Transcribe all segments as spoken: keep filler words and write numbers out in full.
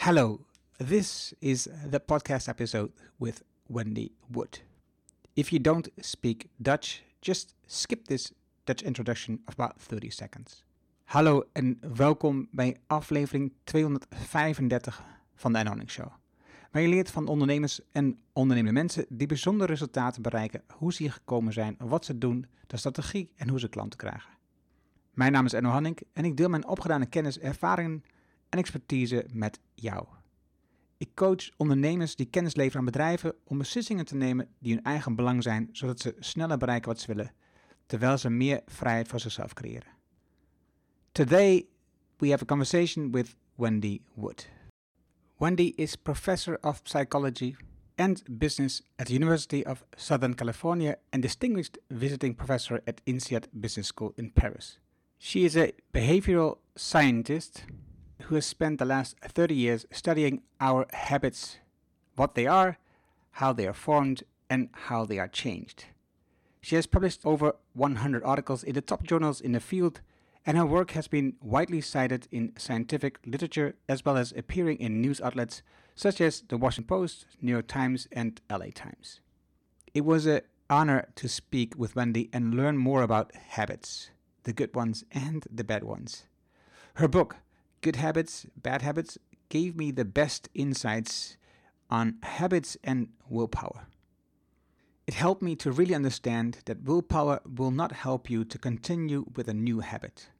Hello, this is the podcast episode with Wendy Wood. If you don't speak Dutch, just skip this Dutch introduction of about thirty seconds. Hallo en welkom bij aflevering tweehonderdvijfendertig van de Anne Show. Waar je leert van ondernemers en ondernemende mensen die bijzondere resultaten bereiken, hoe ze hier gekomen zijn, wat ze doen, de strategie en hoe ze klanten krijgen. Mijn naam is Enno Hanning en ik deel mijn opgedane kennis, ervaringen en expertise met jou. Ik coach ondernemers die kennis leveren aan bedrijven om beslissingen te nemen die hun eigen belang zijn, zodat ze sneller bereiken wat ze willen, terwijl ze meer vrijheid voor zichzelf creëren. Today we have a conversation with Wendy Wood. Wendy is professor of psychology and business at the University of Southern California and distinguished visiting professor at INSEAD Business School in Paris. She is a behavioral scientist who has spent the last thirty years studying our habits, what they are, how they are formed, and how they are changed. She has published over one hundred articles in the top journals in the field, and her work has been widely cited in scientific literature as well as appearing in news outlets such as the Washington Post, New York Times, and L A Times. It was an honor to speak with Wendy and learn more about habits, the good ones and the bad ones. Her book, Good Habits, Bad Habits, gave me the best insights on habits and willpower. It helped me to really understand that willpower will not help you to continue with a new habit.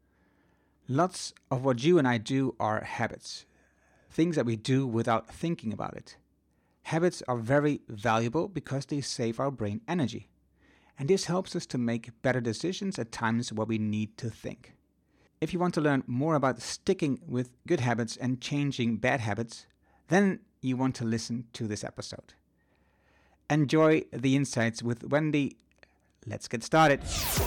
Lots of what you and I do are habits, things that we do without thinking about it. Habits are very valuable because they save our brain energy, and this helps us to make better decisions at times where we need to think. If you want to learn more about sticking with good habits and changing bad habits, then you want to listen to this episode. Enjoy the insights with Wendy. Let's get started.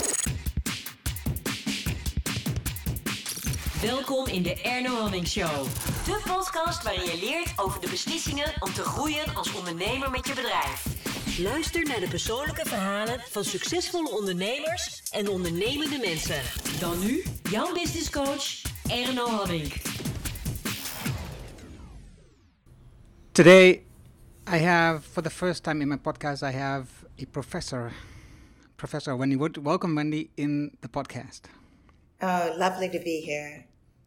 Welkom in de Erno Hanning Show. De podcast waarin je leert over de beslissingen om te groeien als ondernemer met je bedrijf. Luister naar de persoonlijke verhalen van succesvolle ondernemers en ondernemende mensen. Dan nu, jouw business coach, Erno Hanning. Today, I have, for the first time in my podcast, I have a professor, Professor Wendy Wood. Welcome, Wendy, in the podcast. Oh, lovely to be here.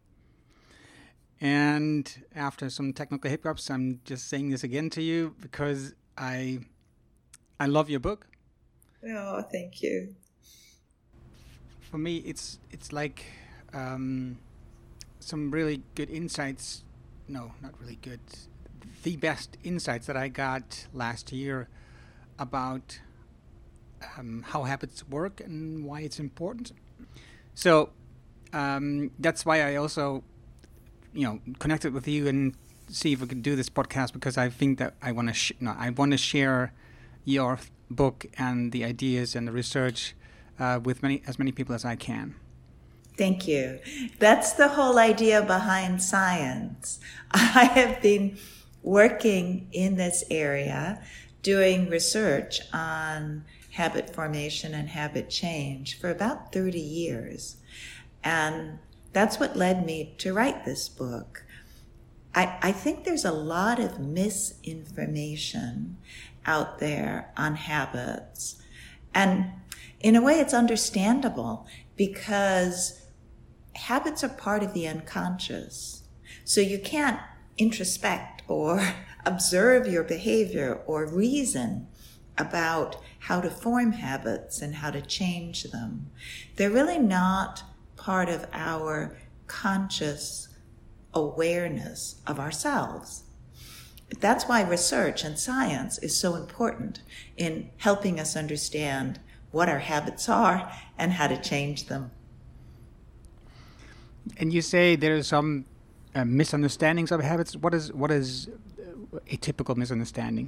And after some technical hiccups, I'm just saying this again to you because I, I love your book. Oh, thank you. For me, it's it's like um, some really good insights. No, not really good. The best insights that I got last year about um, how habits work and why it's important. So um, that's why I also, you know, connected with you and see if we could do this podcast, because I think that I want to sh- no, I want to share your book and the ideas and the research uh, with many as many people as I can. Thank you. That's the whole idea behind science. I have been working in this area, doing research on habit formation and habit change for about thirty years. And that's what led me to write this book. I, I think there's a lot of misinformation out there on habits. And in a way, it's understandable because habits are part of the unconscious. So you can't introspect or observe your behavior or reason about how to form habits and how to change them. They're really not part of our conscious awareness of ourselves. That's why research and science is so important in helping us understand what our habits are and how to change them. And you say there are some uh, misunderstandings of habits. What is what is a typical misunderstanding?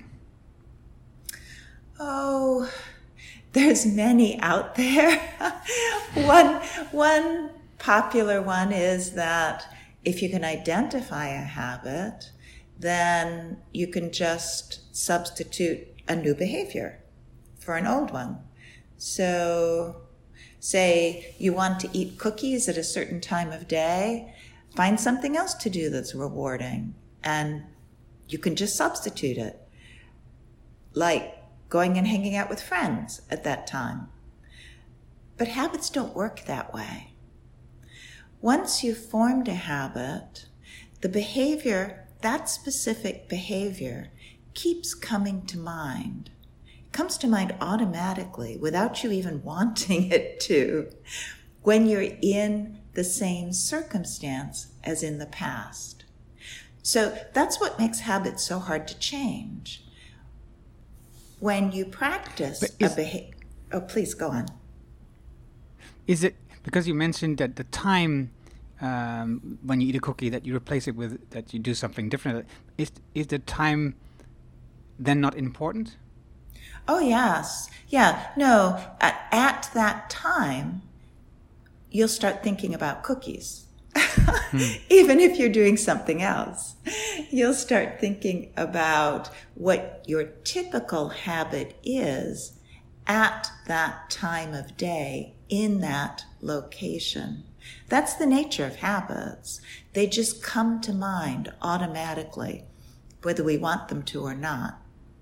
Oh, there's many out there. one one popular one is that if you can identify a habit, then you can just substitute a new behavior for an old one. So say you want to eat cookies at a certain time of day, find something else to do that's rewarding and you can just substitute it, like going and hanging out with friends at that time. But habits don't work that way. Once you've formed a habit, the behavior, that specific behavior, keeps coming to mind. It comes to mind automatically without you even wanting it to when you're in the same circumstance as in the past. So that's what makes habits so hard to change. When you practice is, a behavior... Oh, please, go on. Is it because you mentioned that the time um, when you eat a cookie that you replace it with, that you do something different, is, is the time then not important? Oh, yes. Yeah, no, at, at that time, you'll start thinking about cookies. hmm. Even if you're doing something else, you'll start thinking about what your typical habit is at that time of day in that location. That's the nature of habits. They just come to mind automatically, whether we want them to or not.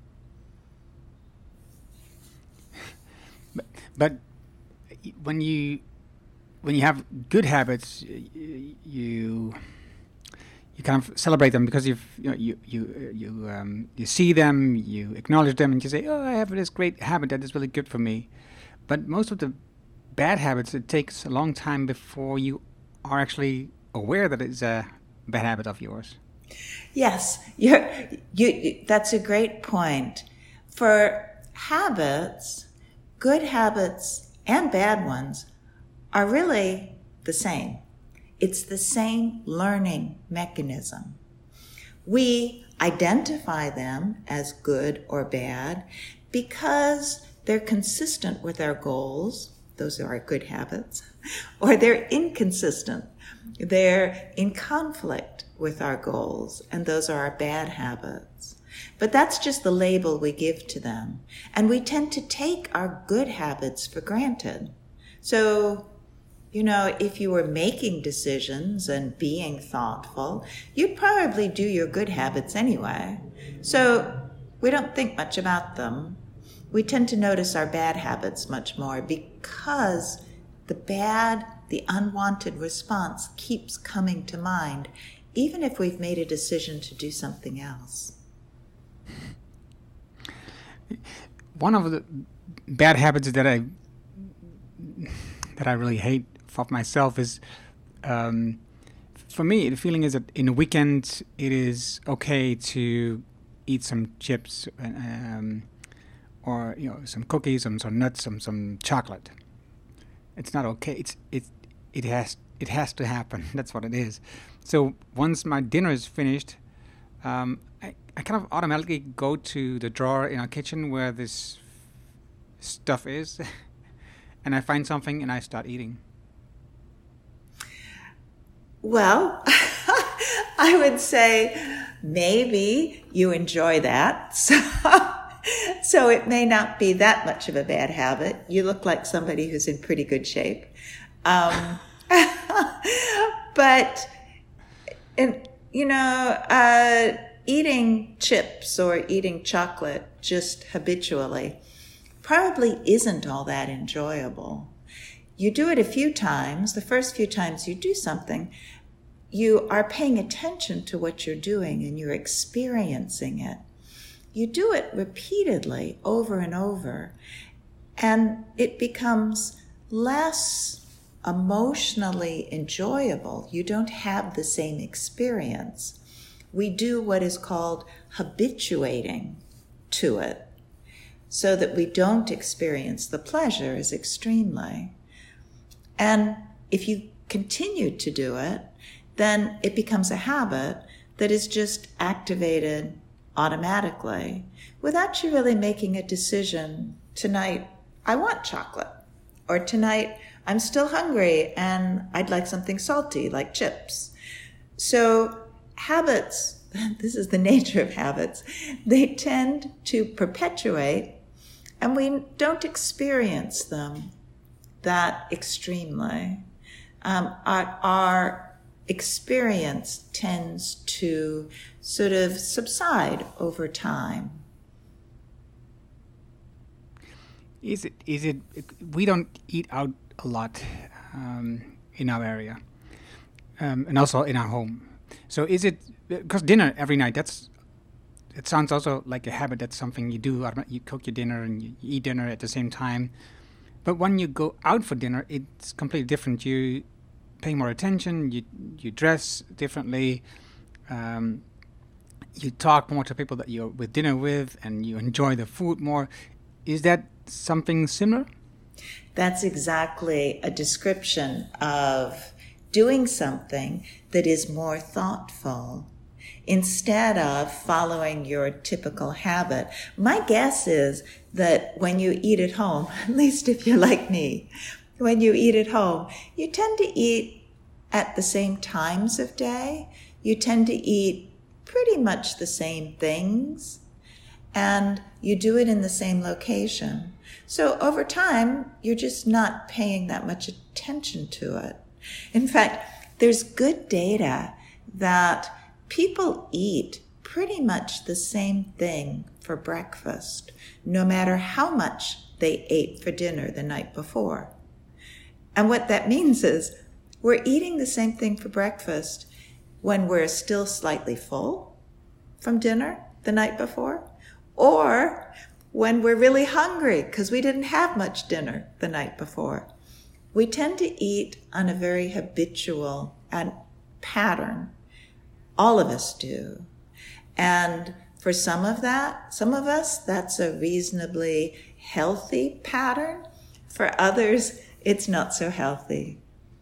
But, but when you when you have good habits, you you kind of celebrate them because you've you know, you you you um, you see them, you acknowledge them, and you say, "Oh, I have this great habit that is really good for me." But most of the bad habits, it takes a long time before you are actually aware that it's a bad habit of yours. Yes, you're, you. That's a great point. For habits, good habits and bad ones are really the same. It's the same learning mechanism. We identify them as good or bad because they're consistent with our goals. Those are our good habits. Or they're inconsistent. They're in conflict with our goals, and those are our bad habits. But that's just the label we give to them. And we tend to take our good habits for granted. So, you know, if you were making decisions and being thoughtful, you'd probably do your good habits anyway. So we don't think much about them. We tend to notice our bad habits much more because the bad, the unwanted response keeps coming to mind, even if we've made a decision to do something else. One of the bad habits that I that I really hate of myself is, um, for me, the feeling is that in a weekend it is okay to eat some chips, um, or you know, some cookies, some some nuts, some some chocolate. It's not okay. It's it it has it has to happen. That's what it is. So once my dinner is finished, um, I, I kind of automatically go to the drawer in our kitchen where this stuff is, and I find something and I start eating. Well, I would say maybe you enjoy that. So, so it may not be that much of a bad habit. You look like somebody who's in pretty good shape. Um, but, and, you know, uh, eating chips or eating chocolate just habitually probably isn't all that enjoyable. You do it a few times. The first few times you do something, you are paying attention to what you're doing and you're experiencing it. You do it repeatedly over and over, and it becomes less emotionally enjoyable. You don't have the same experience. We do what is called habituating to it so that we don't experience the pleasure as extremely. And if you continue to do it, then it becomes a habit that is just activated automatically without you really making a decision. Tonight, I want chocolate. Or tonight, I'm still hungry and I'd like something salty like chips. So habits, this is the nature of habits, they tend to perpetuate and we don't experience them that extremely. Um, our, our experience tends to sort of subside over time. Is it, is it, we don't eat out a lot um, in our area um, and also in our home. So is it, because dinner every night, that's, it sounds also like a habit. That's something you do. You cook your dinner and you eat dinner at the same time. But when you go out for dinner, it's completely different. You pay more attention, you you dress differently, um, you talk more to people that you're with dinner with, and you enjoy the food more. Is that something similar? That's exactly a description of doing something that is more thoughtful instead of following your typical habit. My guess is that when you eat at home, at least if you're like me, when you eat at home, you tend to eat at the same times of day. You tend to eat pretty much the same things, and you do it in the same location. So over time, you're just not paying that much attention to it. In fact, there's good data that people eat pretty much the same thing for breakfast, no matter how much they ate for dinner the night before. And what that means is we're eating the same thing for breakfast when we're still slightly full from dinner the night before, or when we're really hungry because we didn't have much dinner the night before. We tend to eat on a very habitual and pattern. All of us do. And for some of that, some of us, that's a reasonably healthy pattern. For others, it's not so healthy.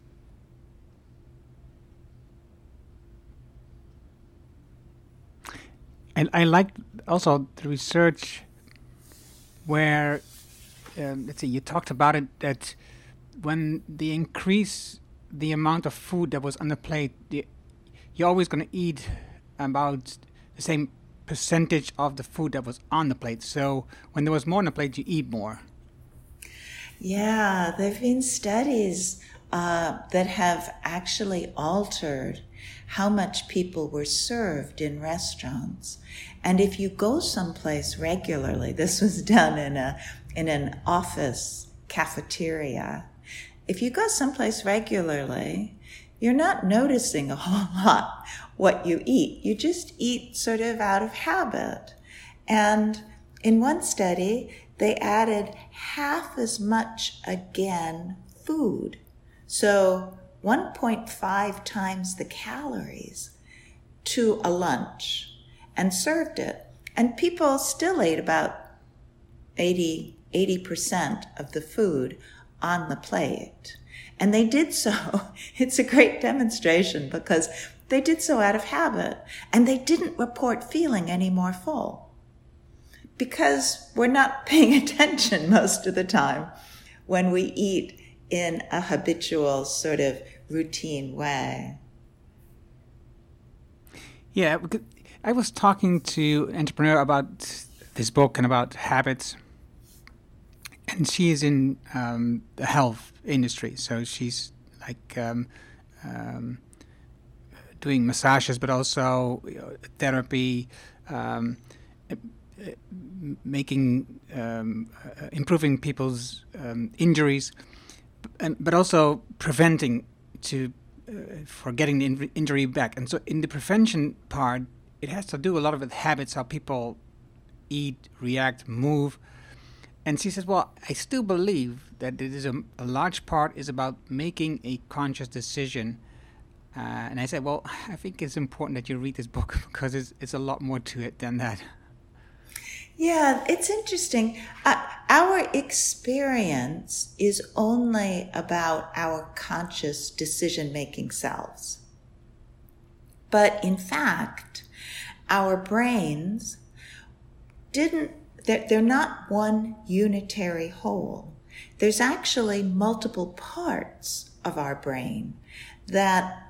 And I like also the research where, um, let's see, you talked about it, that when they increase the amount of food that was on the plate, the, you're always going to eat about the same percentage of the food that was on the plate. So when there was more on the plate, you eat more. Yeah, there have been studies uh, that have actually altered how much people were served in restaurants. And if you go someplace regularly, this was done in a in an office cafeteria, if you go someplace regularly, you're not noticing a whole lot what you eat. You just eat sort of out of habit. And in one study, they added half as much again food. So one point five times the calories to a lunch and served it. And people still ate about eighty, eighty percent of the food on the plate. And they did so. It's a great demonstration because they did so out of habit, and they didn't report feeling any more full because we're not paying attention most of the time when we eat in a habitual sort of routine way. Yeah, I was talking to an entrepreneur about this book and about habits, and she is in um, the health industry, so she's like um, um, doing massages, but also you know, therapy, um, making, um, uh, improving people's um, injuries, and, but also preventing to uh, for getting the in- injury back. And so in the prevention part, it has to do a lot with habits, how people eat, react, move. And she says, well, I still believe that it is a, a large part is about making a conscious decision. Uh, and I said, well, I think it's important that you read this book because it's, it's a lot more to it than that. Yeah, it's interesting. Uh, our experience is only about our conscious decision-making selves. But in fact, our brains didn't, they're, they're not one unitary whole. There's actually multiple parts of our brain that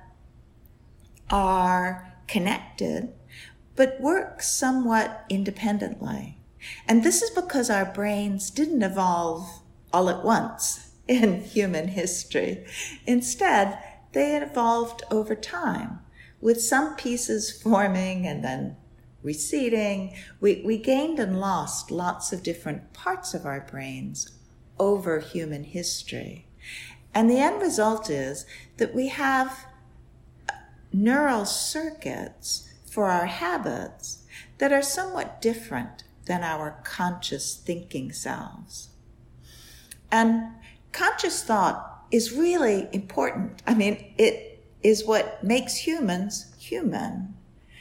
are connected, but work somewhat independently. And this is because our brains didn't evolve all at once in human history. Instead, they evolved over time, with some pieces forming and then receding. We, we gained and lost lots of different parts of our brains over human history. And the end result is that we have neural circuits for our habits that are somewhat different than our conscious thinking selves. And conscious thought is really important. I mean, it is what makes humans human.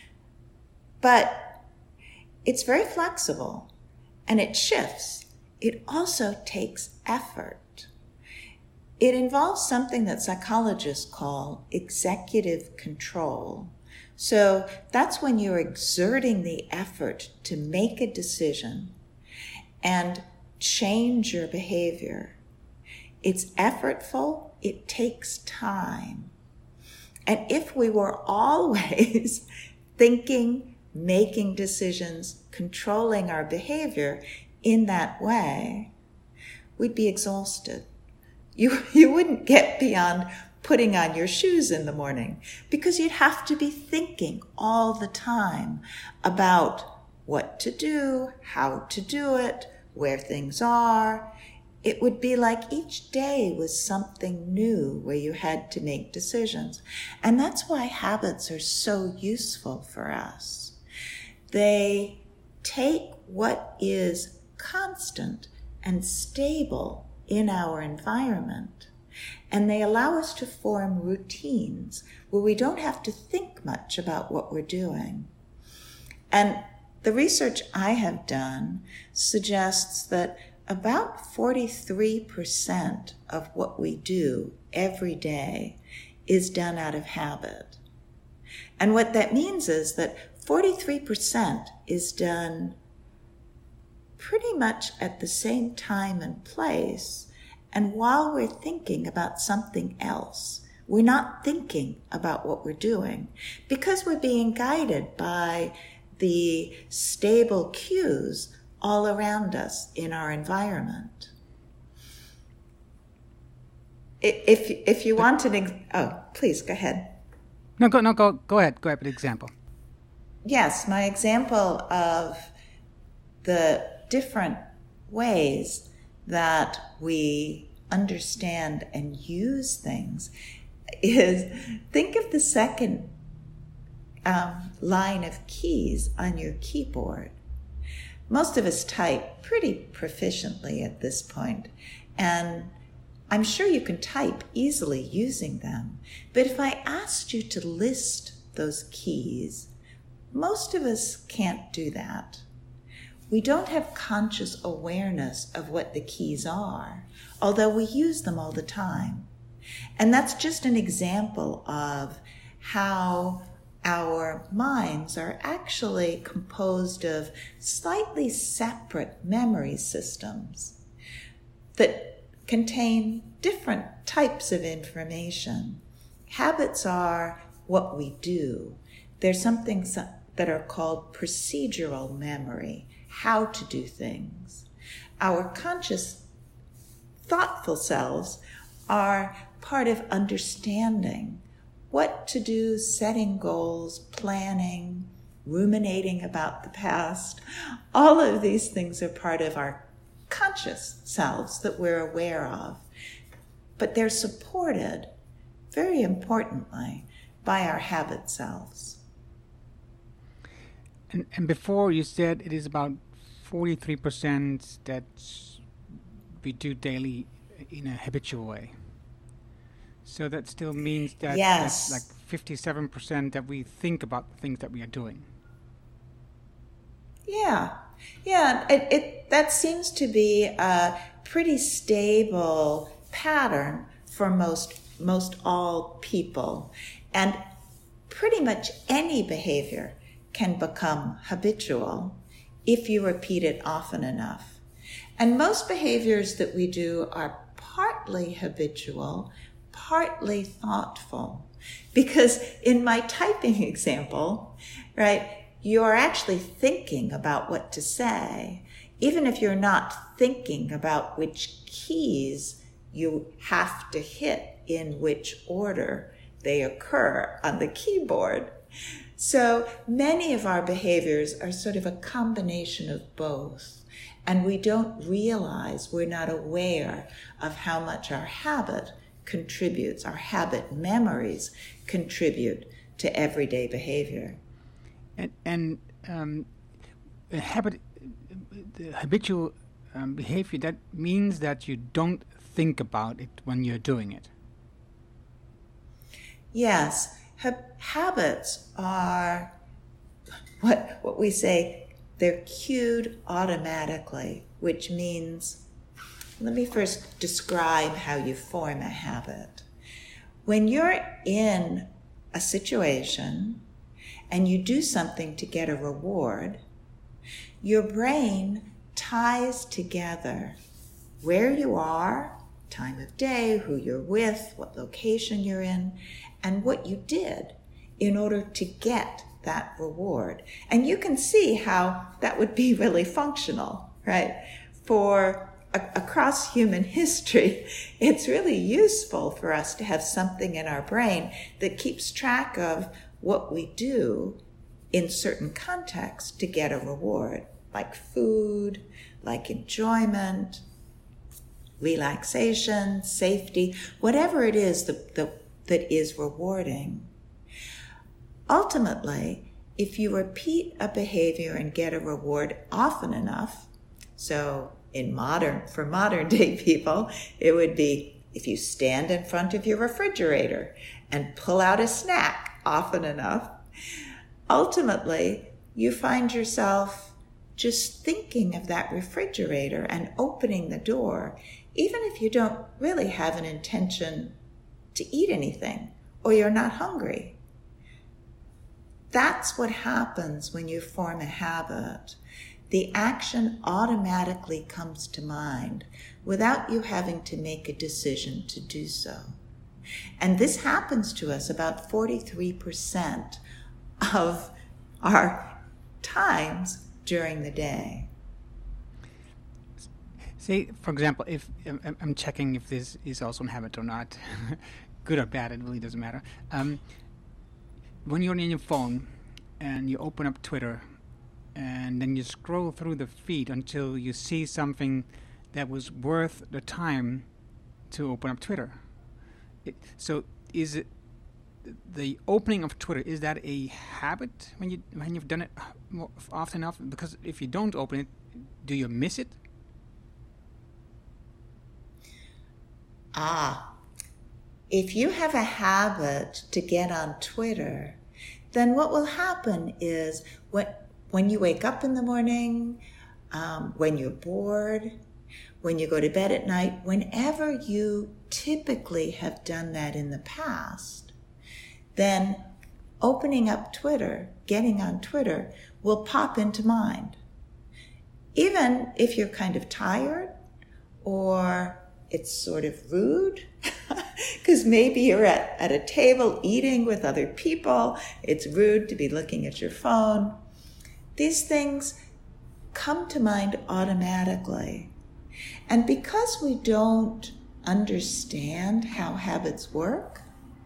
But it's very flexible and it shifts. It also takes effort. It involves something that psychologists call executive control. So that's when you're exerting the effort to make a decision and change your behavior. It's effortful, it takes time. And if we were always thinking, making decisions, controlling our behavior in that way, we'd be exhausted. You, you wouldn't get beyond putting on your shoes in the morning because you'd have to be thinking all the time about what to do, how to do it, where things are. It would be like each day was something new where you had to make decisions. And that's why habits are so useful for us. They take what is constant and stable in our environment, and they allow us to form routines where we don't have to think much about what we're doing. And the research I have done suggests that about forty-three percent of what we do every day is done out of habit. And what that means is that forty-three percent is done pretty much at the same time and place, and while we're thinking about something else. We're not thinking about what we're doing because we're being guided by the stable cues all around us in our environment. If if you want an ex- oh, please go ahead. No, go no go go ahead. Go ahead with the example. Yes, my example of the different ways that we understand and use things is, think of the second um, line of keys on your keyboard. Most of us type pretty proficiently at this point, and I'm sure you can type easily using them. But if I asked you to list those keys, most of us can't do that. We don't have conscious awareness of what the keys are, although we use them all the time. And that's just an example of how our minds are actually composed of slightly separate memory systems that contain different types of information. Habits are what we do. There's something that are called procedural memory, how to do things. Our conscious, thoughtful selves are part of understanding what to do, setting goals, planning, ruminating about the past. All of these things are part of our conscious selves that we're aware of. But they're supported, very importantly, by our habit selves. And, and before you said it is about forty-three percent that we do daily in a habitual way. So that still means that yes. that's like fifty-seven percent that we think about the things that we are doing. Yeah, yeah. It, it that seems to be a pretty stable pattern for most most all people, and pretty much any behavior can become habitual if you repeat it often enough. And most behaviors that we do are partly habitual, partly thoughtful. Because in my typing example, right, you're actually thinking about what to say, even if you're not thinking about which keys you have to hit in which order they occur on the keyboard. So many of our behaviors are sort of a combination of both. And we don't realize, we're not aware of how much our habit contributes, our habit memories contribute to everyday behavior. And, and um, a habit, the habitual um, behavior, that means that you don't think about it when you're doing it. Yes, ha- habits are what what we say, they're cued automatically, which means, let me first describe how you form a habit. When you're in a situation and you do something to get a reward, your brain ties together where you are, time of day, who you're with, what location you're in, and what you did in order to get that reward. And you can see how that would be really functional, right? For a- across human history, it's really useful for us to have something in our brain that keeps track of what we do in certain contexts to get a reward, like food, like enjoyment, relaxation, safety, whatever it is that, that, that is rewarding. Ultimately, if you repeat a behavior and get a reward often enough, so in modern, for modern day people, it would be if you stand in front of your refrigerator and pull out a snack often enough, ultimately you find yourself just thinking of that refrigerator and opening the door, even if you don't really have an intention to eat anything or you're not hungry. That's what happens when you form a habit. The action automatically comes to mind without you having to make a decision to do so. And this happens to us about forty-three percent of our times during the day. Say, for example, if I'm, I'm checking if this is also a habit or not, good or bad, it really doesn't matter. Um, when you're on your phone and you open up Twitter and then you scroll through the feed until you see something that was worth the time to open up Twitter. It, so is it the opening of Twitter, is that a habit when you when you've done it more often enough? Because if you don't open it, do you miss it? Ah, if you have a habit to get on Twitter, then what will happen is when, when you wake up in the morning, um, when you're bored, when you go to bed at night, whenever you typically have done that in the past, then opening up Twitter, getting on Twitter, will pop into mind. Even if you're kind of tired or it's sort of rude, because maybe you're at, at a table eating with other people. It's rude to be looking at your phone. These things come to mind automatically. And because we don't understand how habits work,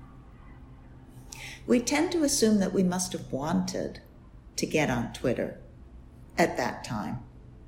we tend to assume that we must have wanted to get on Twitter at that time.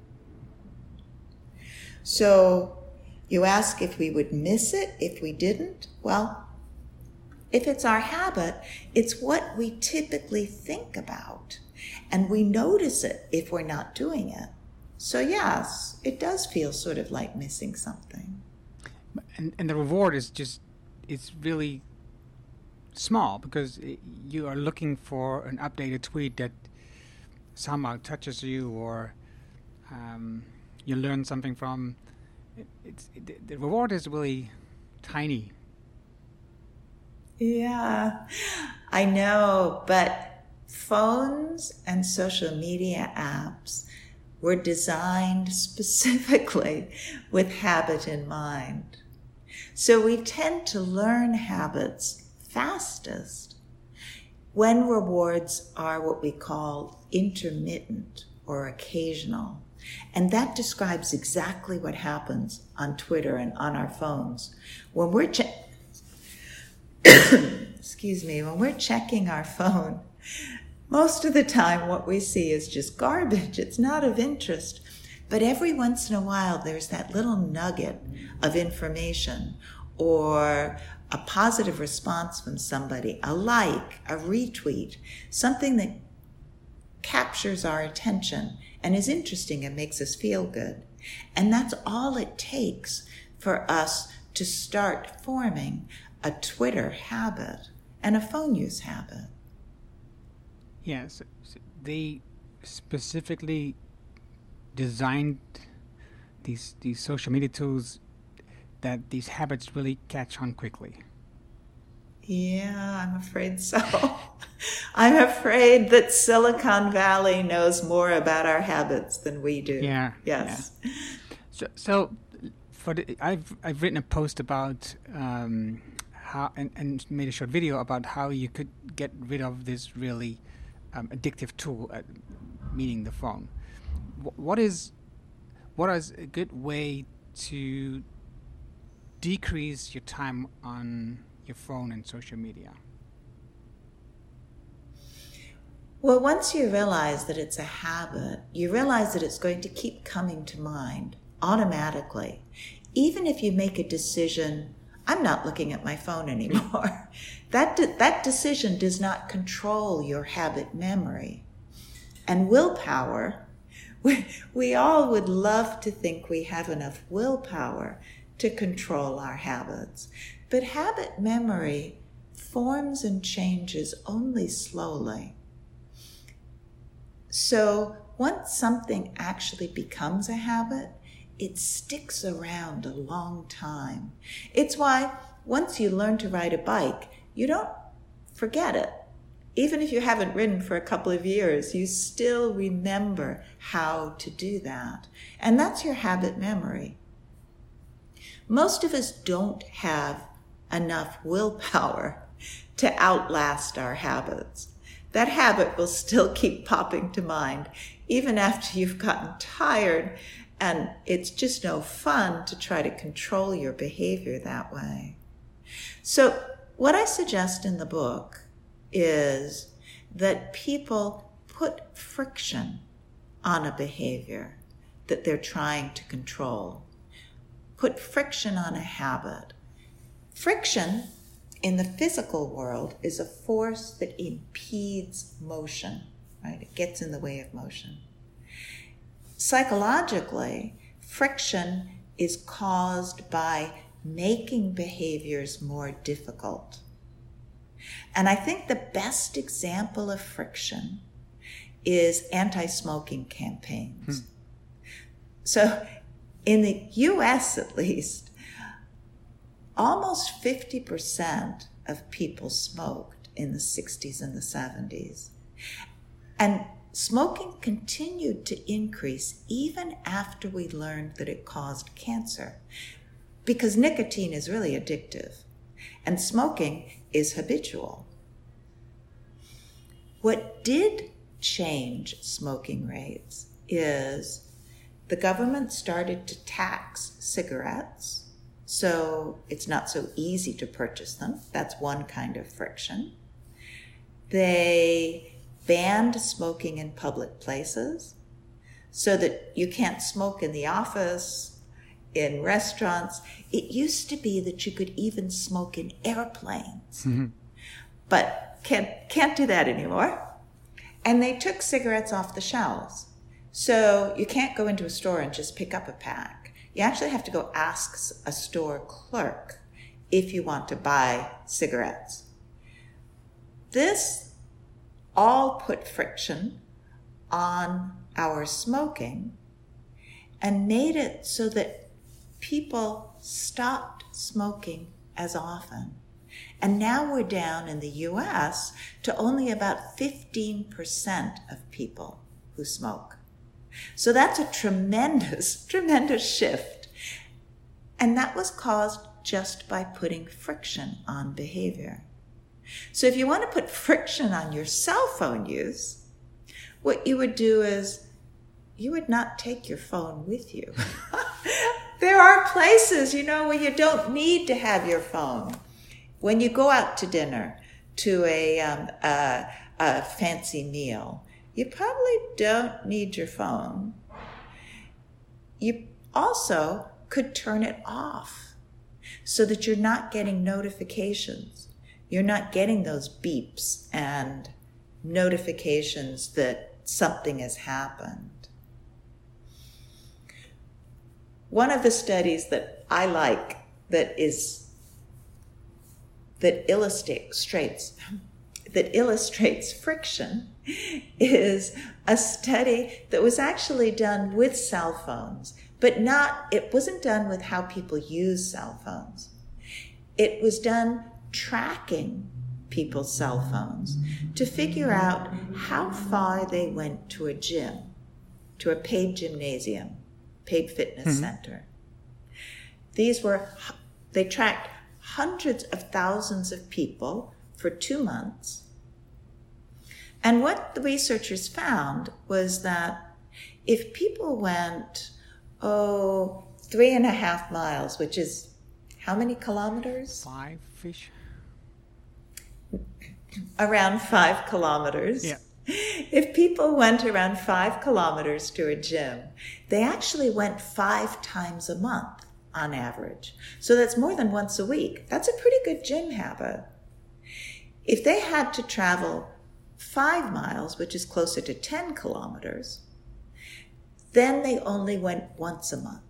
So you ask if we would miss it if we didn't. Well, if it's our habit, it's what we typically think about, and we notice it if we're not doing it. So yes, it does feel sort of like missing something. And, and the reward is just, it's really small because it, you are looking for an updated tweet that somehow touches you or um, you learn something from. It, it's it, the reward is really tiny. Yeah, I know, but phones and social media apps were designed specifically with habit in mind. So we tend to learn habits fastest when rewards are what we call intermittent or occasional. And that describes exactly what happens on Twitter and on our phones. When we're che- excuse me, when we're checking our phone, most of the time what we see is just garbage. It's not of interest. But every once in a while, there's that little nugget of information or a positive response from somebody, a like, a retweet, something that captures our attention and is interesting and makes us feel good. And that's all it takes for us to start forming a Twitter habit and a phone use habit. Yes, they specifically designed these these social media tools that these habits really catch on quickly. Yeah, I'm afraid so. I'm afraid that Silicon Valley knows more about our habits than we do. Yeah. Yes. Yeah. So, so for the, I've I've written a post about um, how and, and made a short video about how you could get rid of this really um, addictive tool, uh, meaning the phone. W- what is what is a good way to decrease your time on your phone and social media? Well, once you realize that it's a habit, you realize that it's going to keep coming to mind automatically. Even if you make a decision, I'm not looking at my phone anymore, that, de- that decision does not control your habit memory. And willpower, we, we all would love to think we have enough willpower to control our habits. But habit memory forms and changes only slowly. So once something actually becomes a habit, it sticks around a long time. It's why once you learn to ride a bike, you don't forget it. Even if you haven't ridden for a couple of years, you still remember how to do that. And that's your habit memory. Most of us don't have enough willpower to outlast our habits. That habit will still keep popping to mind, even after you've gotten tired, and it's just no fun to try to control your behavior that way. So what I suggest in the book is that people put friction on a behavior that they're trying to control. Put friction on a habit. Friction in the physical world is a force that impedes motion, right? It gets in the way of motion. Psychologically, friction is caused by making behaviors more difficult. And I think the best example of friction is anti-smoking campaigns. Hmm. So in the U S at least, almost fifty percent of people smoked in the sixties and the seventies. And smoking continued to increase even after we learned that it caused cancer, because nicotine is really addictive and smoking is habitual. What did change smoking rates is the government started to tax cigarettes, so it's not so easy to purchase them. That's one kind of friction. They banned smoking in public places so that you can't smoke in the office, in restaurants. It used to be that you could even smoke in airplanes, mm-hmm. but can't, can't do that anymore. And they took cigarettes off the shelves. So you can't go into a store and just pick up a pack. You actually have to go ask a store clerk if you want to buy cigarettes. This all put friction on our smoking and made it so that people stopped smoking as often. And now we're down in the U S to only about fifteen percent of people who smoke. So that's a tremendous, tremendous shift. And that was caused just by putting friction on behavior. So if you want to put friction on your cell phone use, what you would do is you would not take your phone with you. There are places, you know, where you don't need to have your phone. When you go out to dinner, to a, um, a, a fancy meal, you probably don't need your phone. You also could turn it off so that you're not getting notifications. You're not getting those beeps and notifications that something has happened. One of the studies that I like that is that illustrates that illustrates friction is a study that was actually done with cell phones, but not it wasn't done with how people use cell phones. It was done tracking people's cell phones to figure out how far they went to a gym, to a paid gymnasium, paid fitness mm-hmm. center. These were, they tracked hundreds of thousands of people for two months. And what the researchers found was that if people went, oh, three and a half miles, which is how many kilometers? Five fish. Around five kilometers. Yeah. If people went around five kilometers to a gym, they actually went five times a month on average. So that's more than once a week. That's a pretty good gym habit. If they had to travel five miles, which is closer to ten kilometers, then they only went once a month.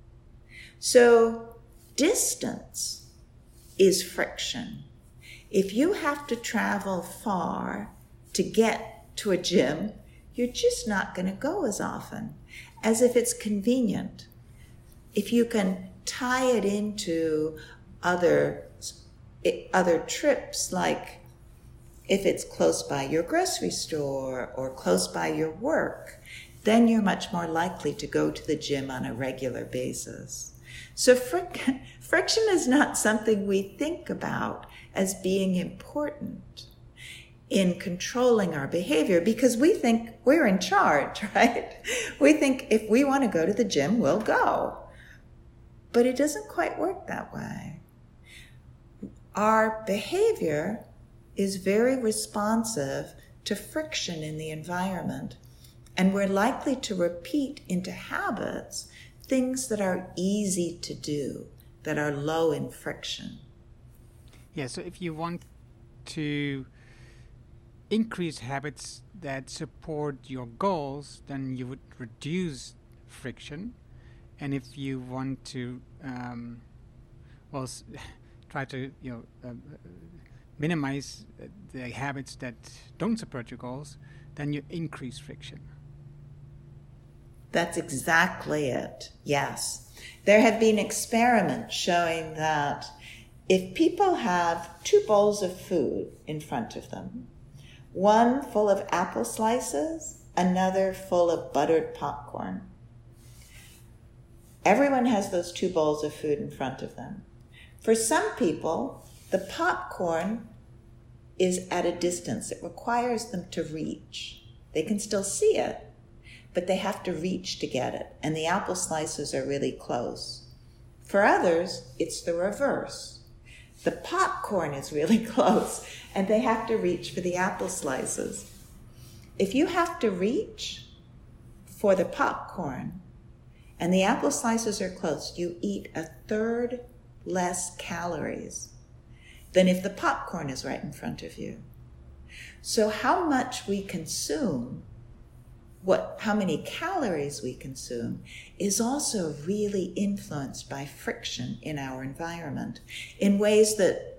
So distance is friction. If you have to travel far to get to a gym, you're just not going to go as often as if it's convenient. If you can tie it into other, other trips, like if it's close by your grocery store or close by your work, then you're much more likely to go to the gym on a regular basis. So fric- friction is not something we think about as being important in controlling our behavior because we think we're in charge, right? We think if we want to go to the gym, we'll go. But it doesn't quite work that way. Our behavior is very responsive to friction in the environment, and we're likely to repeat into habits things that are easy to do, that are low in friction. Yeah, so if you want to increase habits that support your goals, then you would reduce friction. And if you want to, um, well, s- try to, you know, uh, minimize uh, the habits that don't support your goals, then you increase friction. That's exactly it. Yes. There have been experiments showing that if people have two bowls of food in front of them, one full of apple slices, another full of buttered popcorn. Everyone has those two bowls of food in front of them. For some people, the popcorn is at a distance. It requires them to reach. They can still see it, but they have to reach to get it. And the apple slices are really close. For others, it's the reverse. The popcorn is really close, and they have to reach for the apple slices. If you have to reach for the popcorn and the apple slices are close, you eat a third less calories than if the popcorn is right in front of you. So how much we consume, what, how many calories we consume, is also really influenced by friction in our environment in ways that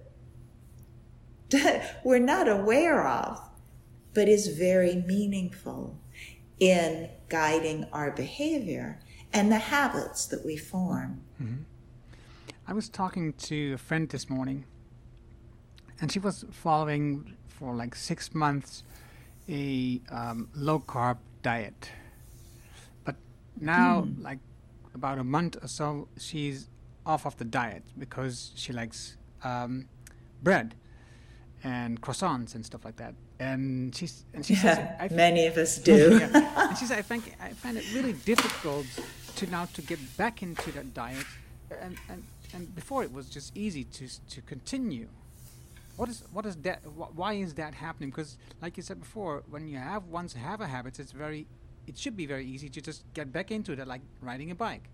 we're not aware of, but is very meaningful in guiding our behavior and the habits that we form. Mm-hmm. I was talking to a friend this morning, and she was following for like six months a um, low-carb diet. But now, mm. like about a month or so, she's off of the diet because she likes um, bread and croissants and stuff like that. And she's and she yeah, says, I f- many of us do. yeah. And she said, I think I find it really difficult to now to get back into that diet. And and, and before it was just easy to to continue. What is what is that? wh- Why is that happening? Because, like you said before, when you have once have a habit, it's very, it should be very easy to just get back into it, like riding a bike.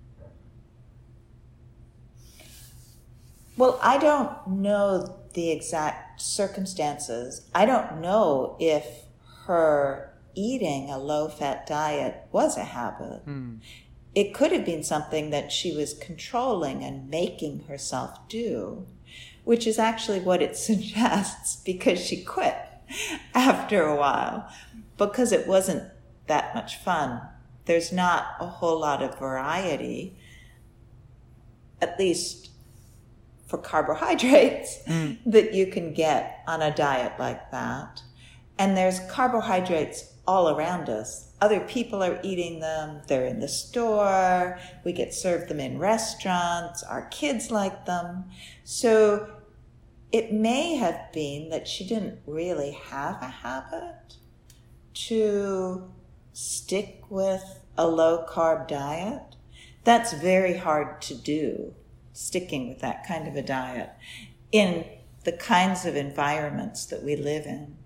Well, I don't know the exact circumstances. I don't know if her eating a low-fat diet was a habit. Hmm. It could have been something that she was controlling and making herself do, which is actually what it suggests, because she quit after a while because it wasn't that much fun. There's not a whole lot of variety, at least for carbohydrates, mm. that you can get on a diet like that. And there's carbohydrates all around us. Other people are eating them. They're in the store. We get served them in restaurants. Our kids like them. So it may have been that she didn't really have a habit to stick with a low-carb diet. That's very hard to do, sticking with that kind of a diet in the kinds of environments that we live in.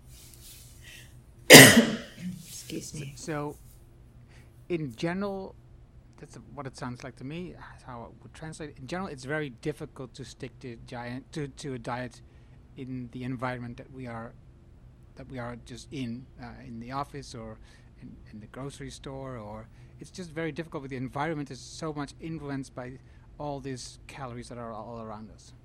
Excuse me. So, in general, that's what it sounds like to me. That's how it would translate. In general, it's very difficult to stick to giant to, to a diet in the environment that we are that we are just in, uh, in the office or in, in the grocery store, or it's just very difficult. With the environment is so much influenced by all these calories that are all around us.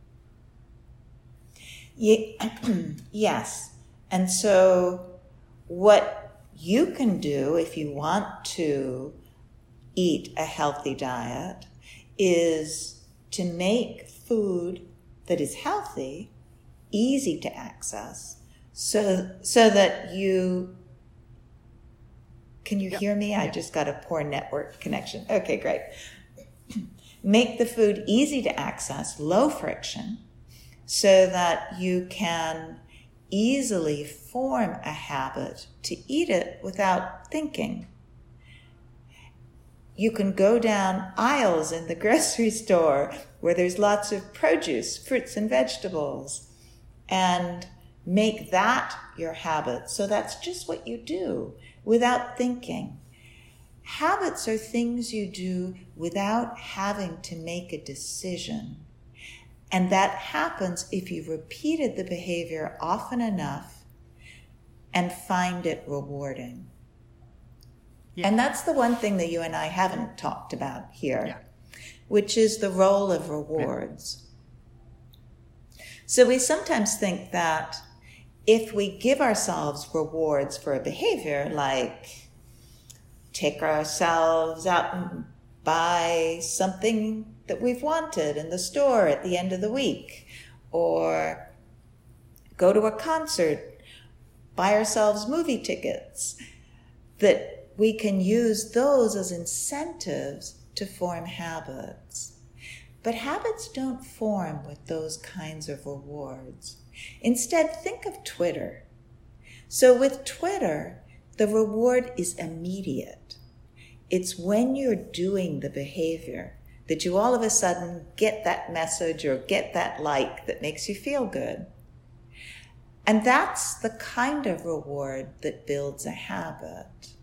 Ye- yes, and so what you can do if you want to eat a healthy diet is to make food that is healthy easy to access, so so that you can you yep. hear me? I yep. just got a poor network connection. Okay, great. Make the food easy to access, low friction, so that you can easily form a habit to eat it without thinking. You can go down aisles in the grocery store where there's lots of produce, fruits and vegetables, and make that your habit. So that's just what you do without thinking. Habits are things you do without having to make a decision. And that happens if you've repeated the behavior often enough and find it rewarding. Yeah. And that's the one thing that you and I haven't talked about here, yeah. which is the role of rewards. Yeah. So we sometimes think that if we give ourselves rewards for a behavior, like take ourselves out and buy something that we've wanted in the store at the end of the week, or go to a concert, buy ourselves movie tickets, that we can use those as incentives to form habits. But habits don't form with those kinds of rewards. Instead, think of Twitter. So with Twitter, the reward is immediate. It's when you're doing the behavior that you all of a sudden get that message or get that like that makes you feel good. And that's the kind of reward that builds a habit.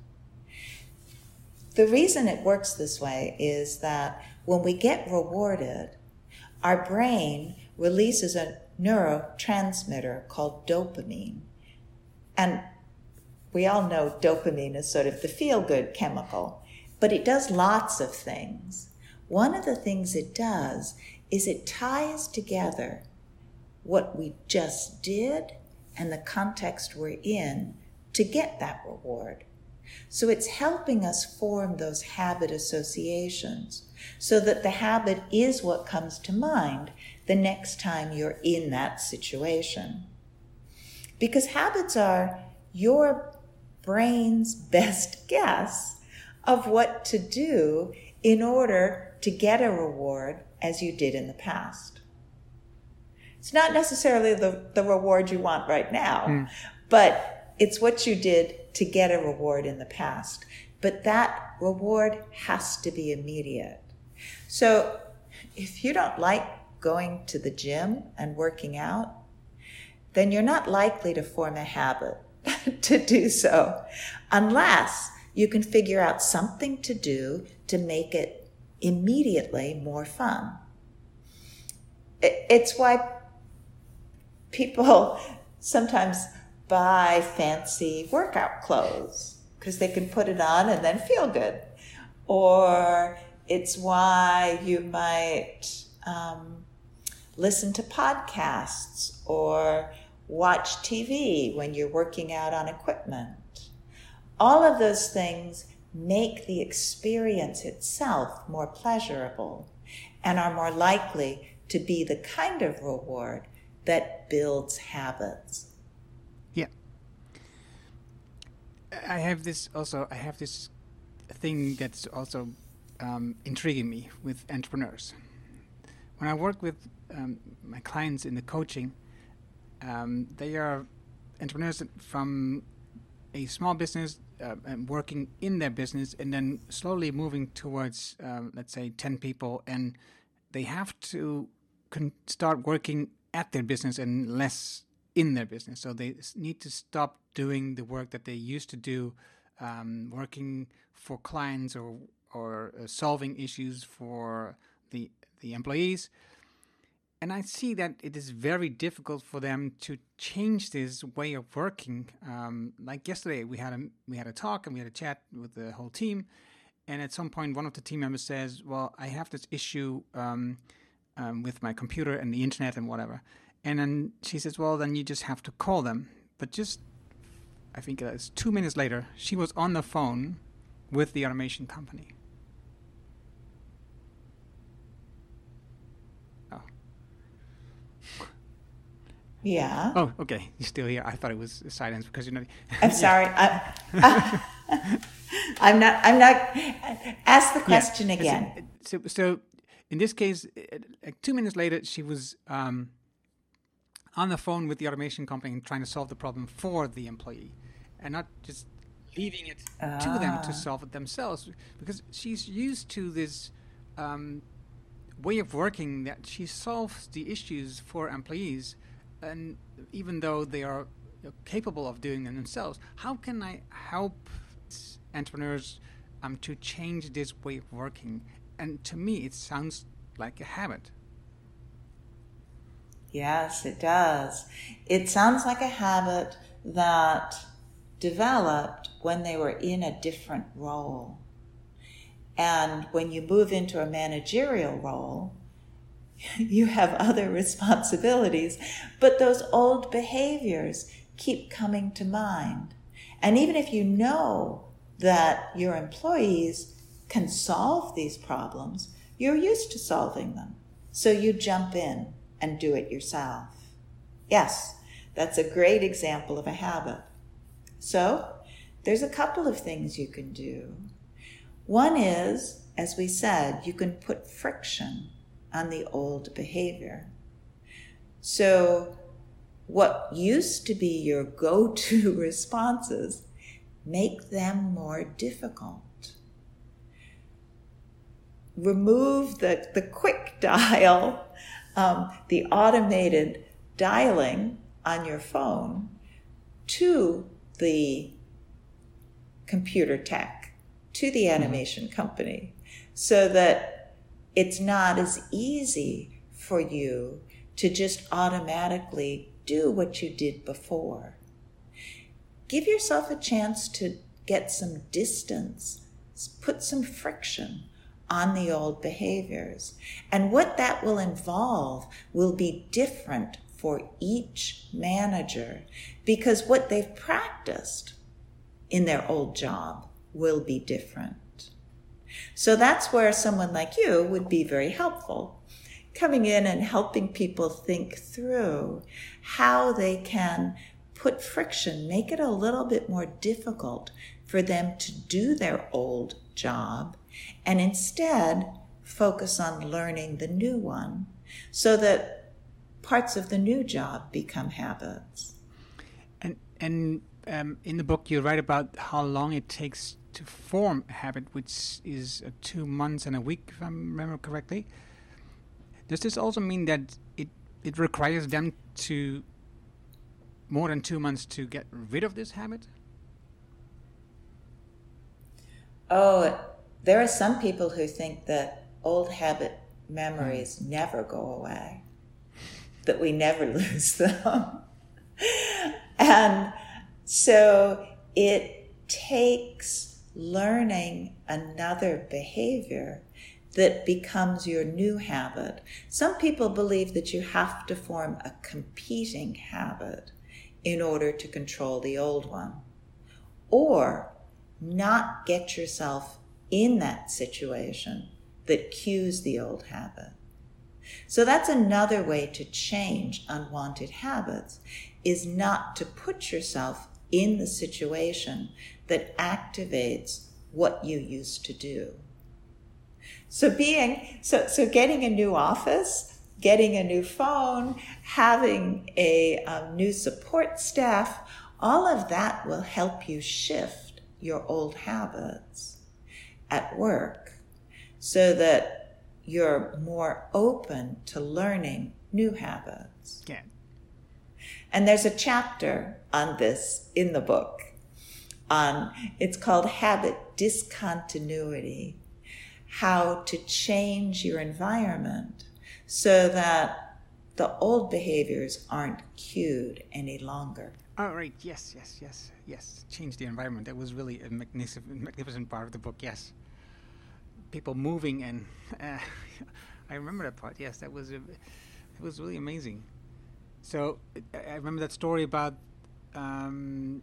The reason it works this way is that when we get rewarded, our brain releases a neurotransmitter called dopamine. And we all know dopamine is sort of the feel-good chemical, but it does lots of things. One of the things it does is it ties together what we just did and the context we're in to get that reward. So it's helping us form those habit associations so that the habit is what comes to mind the next time you're in that situation. Because habits are your brain's best guess of what to do in order to get a reward as you did in the past. It's not necessarily the, the reward you want right now, mm. but it's what you did to get a reward in the past. But that reward has to be immediate. So if you don't like going to the gym and working out, then you're not likely to form a habit to do so unless you can figure out something to do to make it immediately more fun. It's why people sometimes buy fancy workout clothes, because they can put it on and then feel good. Or it's why you might um, listen to podcasts or watch T V when you're working out on equipment. All of those things make the experience itself more pleasurable and are more likely to be the kind of reward that builds habits. Yeah. I have this also, I have this thing that's also um, intriguing me with entrepreneurs. When I work with um, my clients in the coaching, um, they are entrepreneurs from a small business uh, and working in their business and then slowly moving towards, um, let's say, ten people, and they have to con- start working at their business and less in their business. So they need to stop doing the work that they used to do, um, working for clients or or uh, solving issues for the the employees. And I see that it is very difficult for them to change this way of working. Um, like yesterday, we had a we had a talk and we had a chat with the whole team. And at some point, one of the team members says, "Well, I have this issue um, um, with my computer and the internet and whatever." And then she says, "Well, then you just have to call them." But just, I think it was two minutes later, she was on the phone with the automation company. Oh. Yeah. Oh, okay. You're still here. I thought it was silence because you're not. I'm sorry. I, I, I'm not. I'm not. Ask the question yeah. again. So, so, in this case, like two minutes later, she was um, on the phone with the automation company and trying to solve the problem for the employee, and not just leaving it ah. to them to solve it themselves, because she's used to this um, way of working that she solves the issues for employees, and even though they are you know, capable of doing them themselves, how can I help entrepreneurs um, to change this way of working? And to me, it sounds like a habit. Yes, it does. It sounds like a habit that developed when they were in a different role. And when you move into a managerial role, you have other responsibilities, but those old behaviors keep coming to mind. And even if you know that your employees can solve these problems, you're used to solving them. So you jump in and do it yourself. Yes, that's a great example of a habit. So there's a couple of things you can do. One is, as we said, you can put friction on the old behavior. So what used to be your go-to responses, make them more difficult. Remove the, the quick dial, um, the automated dialing on your phone to the computer tech, to the animation company, so that it's not as easy for you to just automatically do what you did before. Give yourself a chance to get some distance, put some friction on the old behaviors. And what that will involve will be different for each manager, because what they've practiced in their old job will be different. So that's where someone like you would be very helpful, coming in and helping people think through how they can put friction, make it a little bit more difficult for them to do their old job, and instead focus on learning the new one so that parts of the new job become habits. And and um, in the book you write about how long it takes to form a habit, which is uh, two months and a week, if I remember correctly. Does this also mean that it, it requires them to more than two months to get rid of this habit? Oh, there are some people who think that old habit memories mm. never go away, that we never lose them. And so it takes learning another behavior that becomes your new habit. Some people believe that you have to form a competing habit in order to control the old one, or not get yourself in that situation that cues the old habit. So that's another way to change unwanted habits, is not to put yourself in the situation that activates what you used to do. So being, so, so getting a new office, getting a new phone, having a um, new support staff, all of that will help you shift your old habits at work so that you're more open to learning new habits. Yeah. And there's a chapter on this in the book. On, it's called Habit Discontinuity, how to change your environment so that the old behaviors aren't cued any longer. Oh, right. Yes, yes, yes, yes. Change the environment. That was really a magnificent, magnificent part of the book, yes. People moving and... Uh, I remember that part, yes. That was, a, it was really amazing. So, I remember that story about... Um,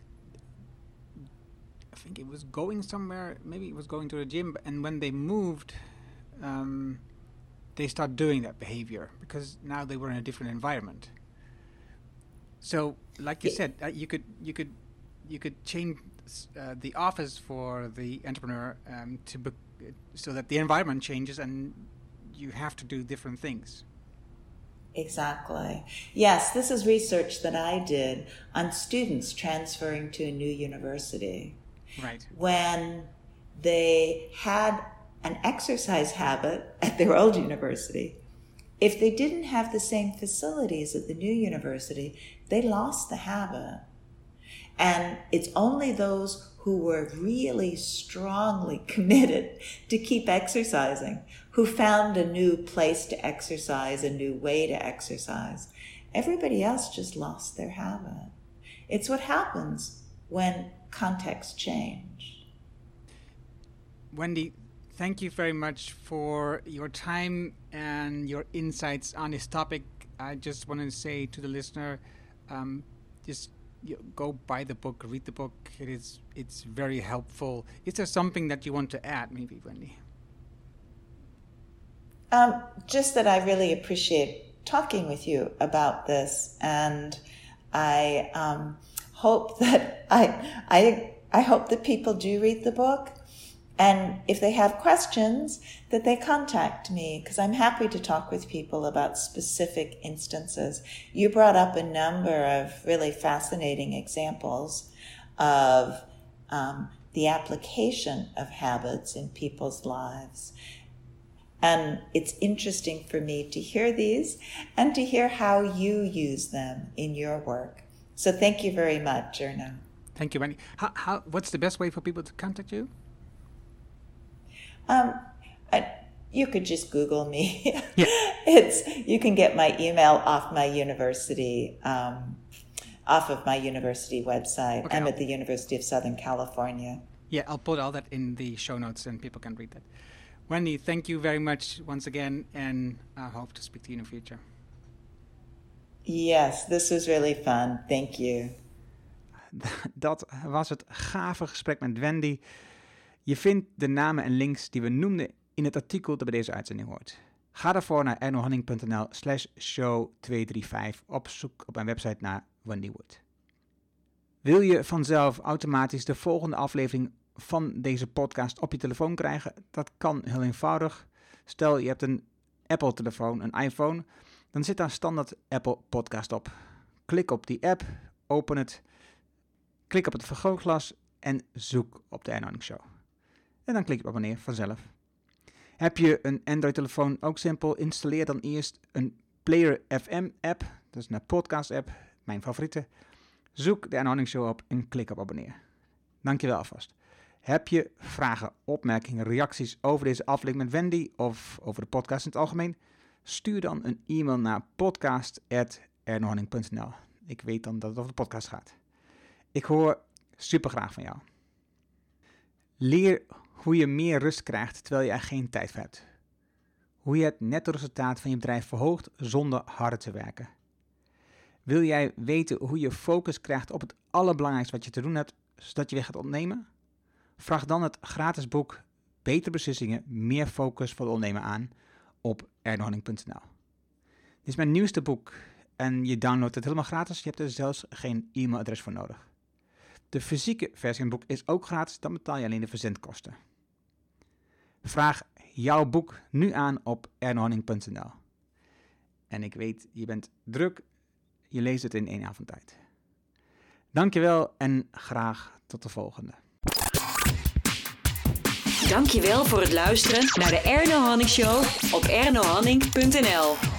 I think it was going somewhere, maybe it was going to the gym, and when they moved, um, they started doing that behavior because now they were in a different environment. So, like you said, uh, you could you could you could change uh, the office for the entrepreneur um, to be- so that the environment changes and you have to do different things. Exactly. Yes, this is research that I did on students transferring to a new university. Right. When they had an exercise habit at their old university, if they didn't have the same facilities at the new university, they lost the habit. And it's only those who were really strongly committed to keep exercising, who found a new place to exercise, a new way to exercise. Everybody else just lost their habit. It's what happens when contexts change. Wendy, thank you very much for your time and your insights on this topic. I just want to say to the listener, um, just you go buy the book, read the book. It is, it's very helpful. Is there something that you want to add, maybe, Wendy? Um, just that I really appreciate talking with you about this, and I um, hope that I, I, I hope that people do read the book. And if they have questions, that they contact me, because I'm happy to talk with people about specific instances. You brought up a number of really fascinating examples of um, the application of habits in people's lives. And it's interesting for me to hear these and to hear how you use them in your work. So thank you very much, Erno. Thank you, Wendy. How, how, what's the best way for people to contact you? Um, I, you could just Google me. Yeah. It's, you can get my email off my university, um, off of my university website. Okay, I'm I'll, at the University of Southern California. Yeah, I'll put all that in the show notes and people can read that. Wendy, thank you very much once again, and I hope to speak to you in the future. Yes, this was really fun. Thank you. Dat was het gave gesprek met Wendy. Je vindt de namen en links die we noemden in het artikel dat bij deze uitzending hoort. Ga daarvoor naar ernohanning.nl slash show tweehonderdvijfendertig op zoek op mijn website naar Wendy Wood. Wil je vanzelf automatisch de volgende aflevering van deze podcast op je telefoon krijgen? Dat kan heel eenvoudig. Stel je hebt een Apple-telefoon, een iPhone, dan zit daar standaard Apple Podcast op. Klik op die app, open het, klik op het vergrootglas en zoek op de Erno Hanning Show. En dan klik je op abonneer vanzelf. Heb je een Android-telefoon, ook simpel. Installeer dan eerst een Player F M app. Dat is een podcast app. mijn favoriete. Zoek de Erno Hamming Show op en klik op abonneer. Dankjewel alvast. Heb je vragen, opmerkingen, reacties over deze aflevering met Wendy of over de podcast in het algemeen? Stuur dan een e-mail naar podcast at erno hamming punt n l. Ik weet dan dat het over de podcast gaat. Ik hoor super graag van jou. Leer hoe je meer rust krijgt terwijl je er geen tijd voor hebt. Hoe je het netto resultaat van je bedrijf verhoogt zonder harder te werken. Wil jij weten hoe je focus krijgt op het allerbelangrijkste wat je te doen hebt, zodat je weer gaat ondernemen? Vraag dan het gratis boek Betere Beslissingen, meer focus voor de ondernemer aan op erno hamming punt n l. Dit is mijn nieuwste boek en je downloadt het helemaal gratis. Je hebt er zelfs geen e-mailadres voor nodig. De fysieke versie van het boek is ook gratis, dan betaal je alleen de verzendkosten. Vraag jouw boek nu aan op erno hamming punt n l. En ik weet, je bent druk, je leest het in één avond tijd. Dankjewel en graag tot de volgende. Dankjewel voor het luisteren naar de Erno Hamming Show op erno hamming punt n l.